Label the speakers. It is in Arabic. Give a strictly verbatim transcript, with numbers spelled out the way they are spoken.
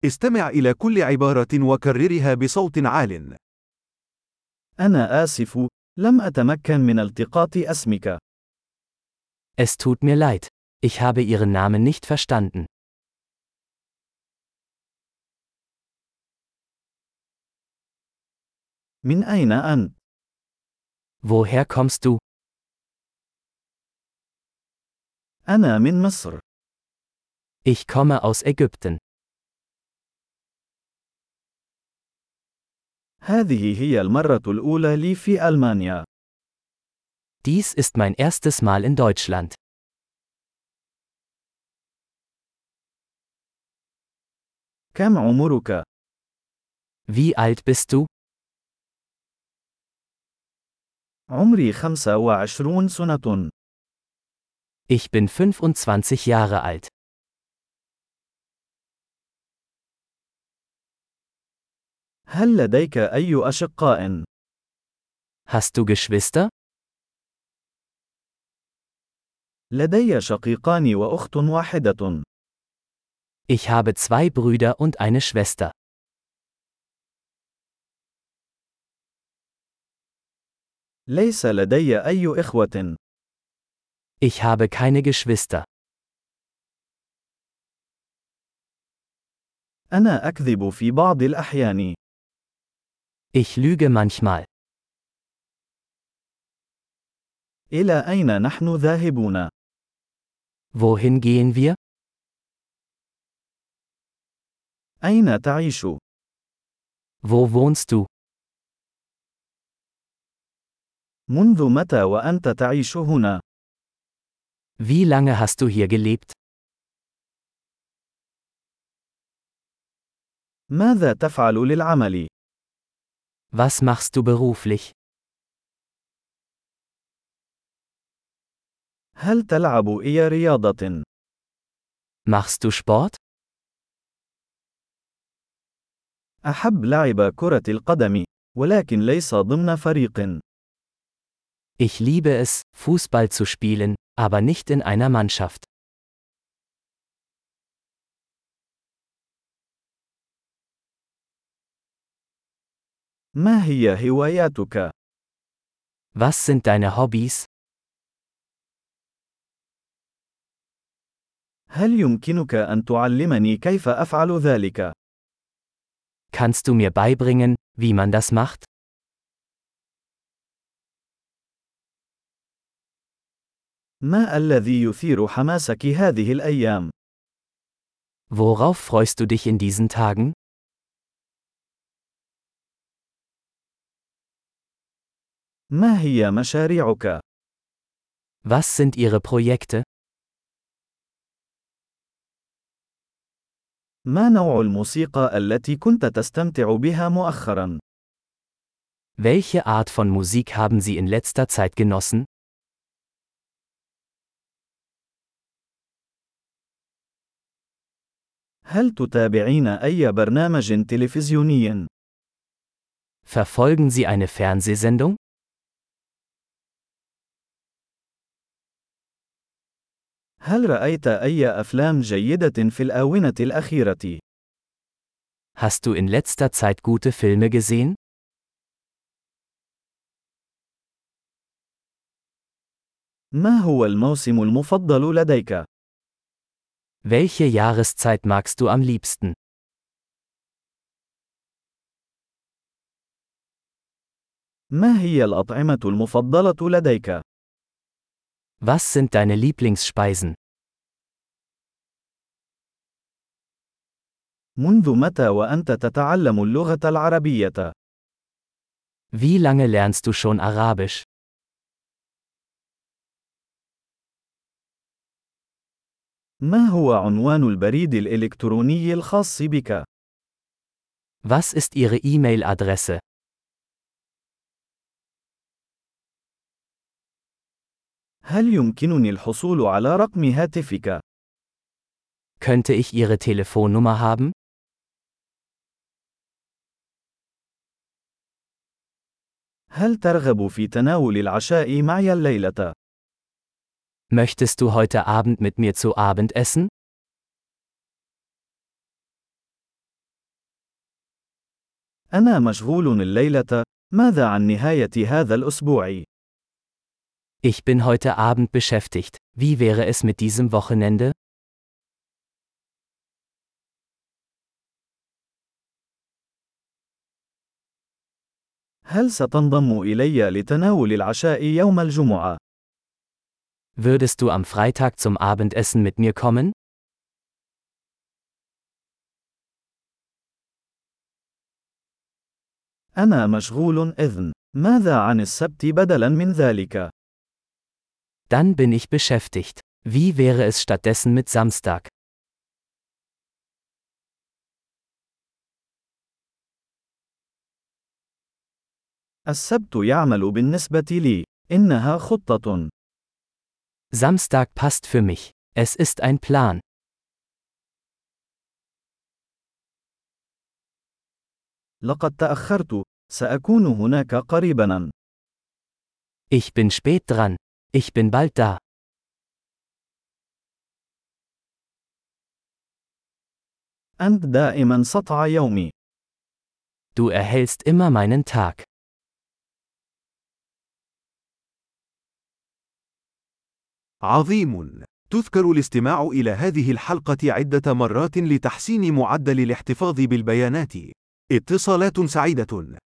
Speaker 1: استمع إلى كل عبارة وكررها بصوت عال.
Speaker 2: أنا آسف، لم أتمكن من التقاط اسمك.
Speaker 3: Es tut mir leid. Ich habe Ihren Namen nicht verstanden.
Speaker 2: من أين أنت؟
Speaker 3: Woher kommst du?
Speaker 2: أنا من مصر.
Speaker 3: Ich komme aus Ägypten.
Speaker 2: هذه هي المرة الأولى لي في ألمانيا.
Speaker 3: Dies ist mein erstes Mal in Deutschland.
Speaker 2: كم عمرك؟
Speaker 3: Wie alt bist du?
Speaker 2: عمري خمسة وعشرون سنة.
Speaker 3: Ich bin fünfundzwanzig Jahre alt.
Speaker 2: هل لديك أي أشقاء؟
Speaker 3: Hast du Geschwister?
Speaker 2: لدي شقيقان وأخت واحدة.
Speaker 3: Ich habe zwei Brüder und eine Schwester.
Speaker 2: ليس لدي أي إخوة.
Speaker 3: Ich habe keine Geschwister.
Speaker 2: أنا أكذب في بعض الأحيان.
Speaker 3: Ich lüge manchmal.
Speaker 2: إلى أين نحن ذاهبون؟
Speaker 3: Wohin gehen wir?
Speaker 2: أين تعيش؟
Speaker 3: Wo wohnst du?
Speaker 2: منذ متى وأنت تعيش هنا؟
Speaker 3: Wie lange hast du hier gelebt?
Speaker 2: ماذا تفعل للعمل؟
Speaker 3: Was machst du beruflich?
Speaker 2: هل تلعب أي رياضة؟
Speaker 3: Machst du Sport?
Speaker 2: أحب لعب كرة القدم، ولكن ليس ضمن فريق.
Speaker 3: Ich liebe es, Fußball zu spielen, aber nicht in einer Mannschaft.
Speaker 2: ما هي هواياتك؟
Speaker 3: Was sind deine Hobbys?
Speaker 2: هل يمكنك أن تعلمني كيف أفعل ذلك؟
Speaker 3: Kannst du mir beibringen, wie man das macht?
Speaker 2: ما الذي يثير حماسك هذه الأيام؟
Speaker 3: Worauf freust du dich in diesen Tagen?
Speaker 2: ما هي مشاريعك؟
Speaker 3: Was sind ihre Projekte?
Speaker 2: ما نوع الموسيقى التي كنت تستمتع بها مؤخرا؟
Speaker 3: Welche Art von Musik haben Sie in letzter Zeit genossen?
Speaker 2: هل تتابعين أي برنامج تلفزيوني؟
Speaker 3: Verfolgen Sie eine Fernsehsendung?
Speaker 2: هل رأيت أي أفلام جيدة في الآونة الأخيرة؟
Speaker 3: Hast du in letzter Zeit gute Filme gesehen?
Speaker 2: ما هو الموسم المفضل لديك؟
Speaker 3: Welche Jahreszeit magst du am liebsten?
Speaker 2: ما هي الأطعمة المفضلة لديك؟
Speaker 3: Was sind deine Lieblingsspeisen?
Speaker 2: منذ متى وأنت تتعلم اللغة العربية؟
Speaker 3: Wie lange lernst du schon Arabisch?
Speaker 2: ما هو عنوان البريد الإلكتروني الخاص بك؟
Speaker 3: Was ist Ihre E-Mail-Adresse?
Speaker 2: هل يمكنني الحصول على رقم هاتفك؟
Speaker 3: Könnte ich Ihre Telefonnummer haben?
Speaker 2: هل ترغب في تناول العشاء معي الليلة؟
Speaker 3: Möchtest du heute Abend mit mir zu Abend essen?
Speaker 2: أنا مشغول الليلة. ماذا عن نهاية هذا الأسبوع؟
Speaker 3: Ich bin heute Abend beschäftigt. Wie wäre es mit diesem Wochenende?
Speaker 2: هل ستنضم إلي لتناول العشاء يوم الجمعة؟
Speaker 3: Würdest du am Freitag zum Abendessen mit mir kommen?
Speaker 2: أنا مشغول إذن. ماذا عن السبت بدلاً من ذلك؟
Speaker 3: Dann bin ich beschäftigt. Wie wäre es stattdessen mit Samstag?
Speaker 2: السبت يعمل بالنسبة لي. إنها خطة.
Speaker 3: Samstag passt für mich. Es ist ein Plan.
Speaker 2: لقد تأخرت. سأكون هناك قريباً.
Speaker 3: Ich bin spät dran. Ich bin bald da.
Speaker 2: أنت دائماً سطع يومي.
Speaker 3: Du erhellst immer meinen Tag.
Speaker 1: عظيم. تذكر الاستماع إلى هذه الحلقة عدة مرات لتحسين معدل الاحتفاظ بالبيانات. اتصالات سعيدة.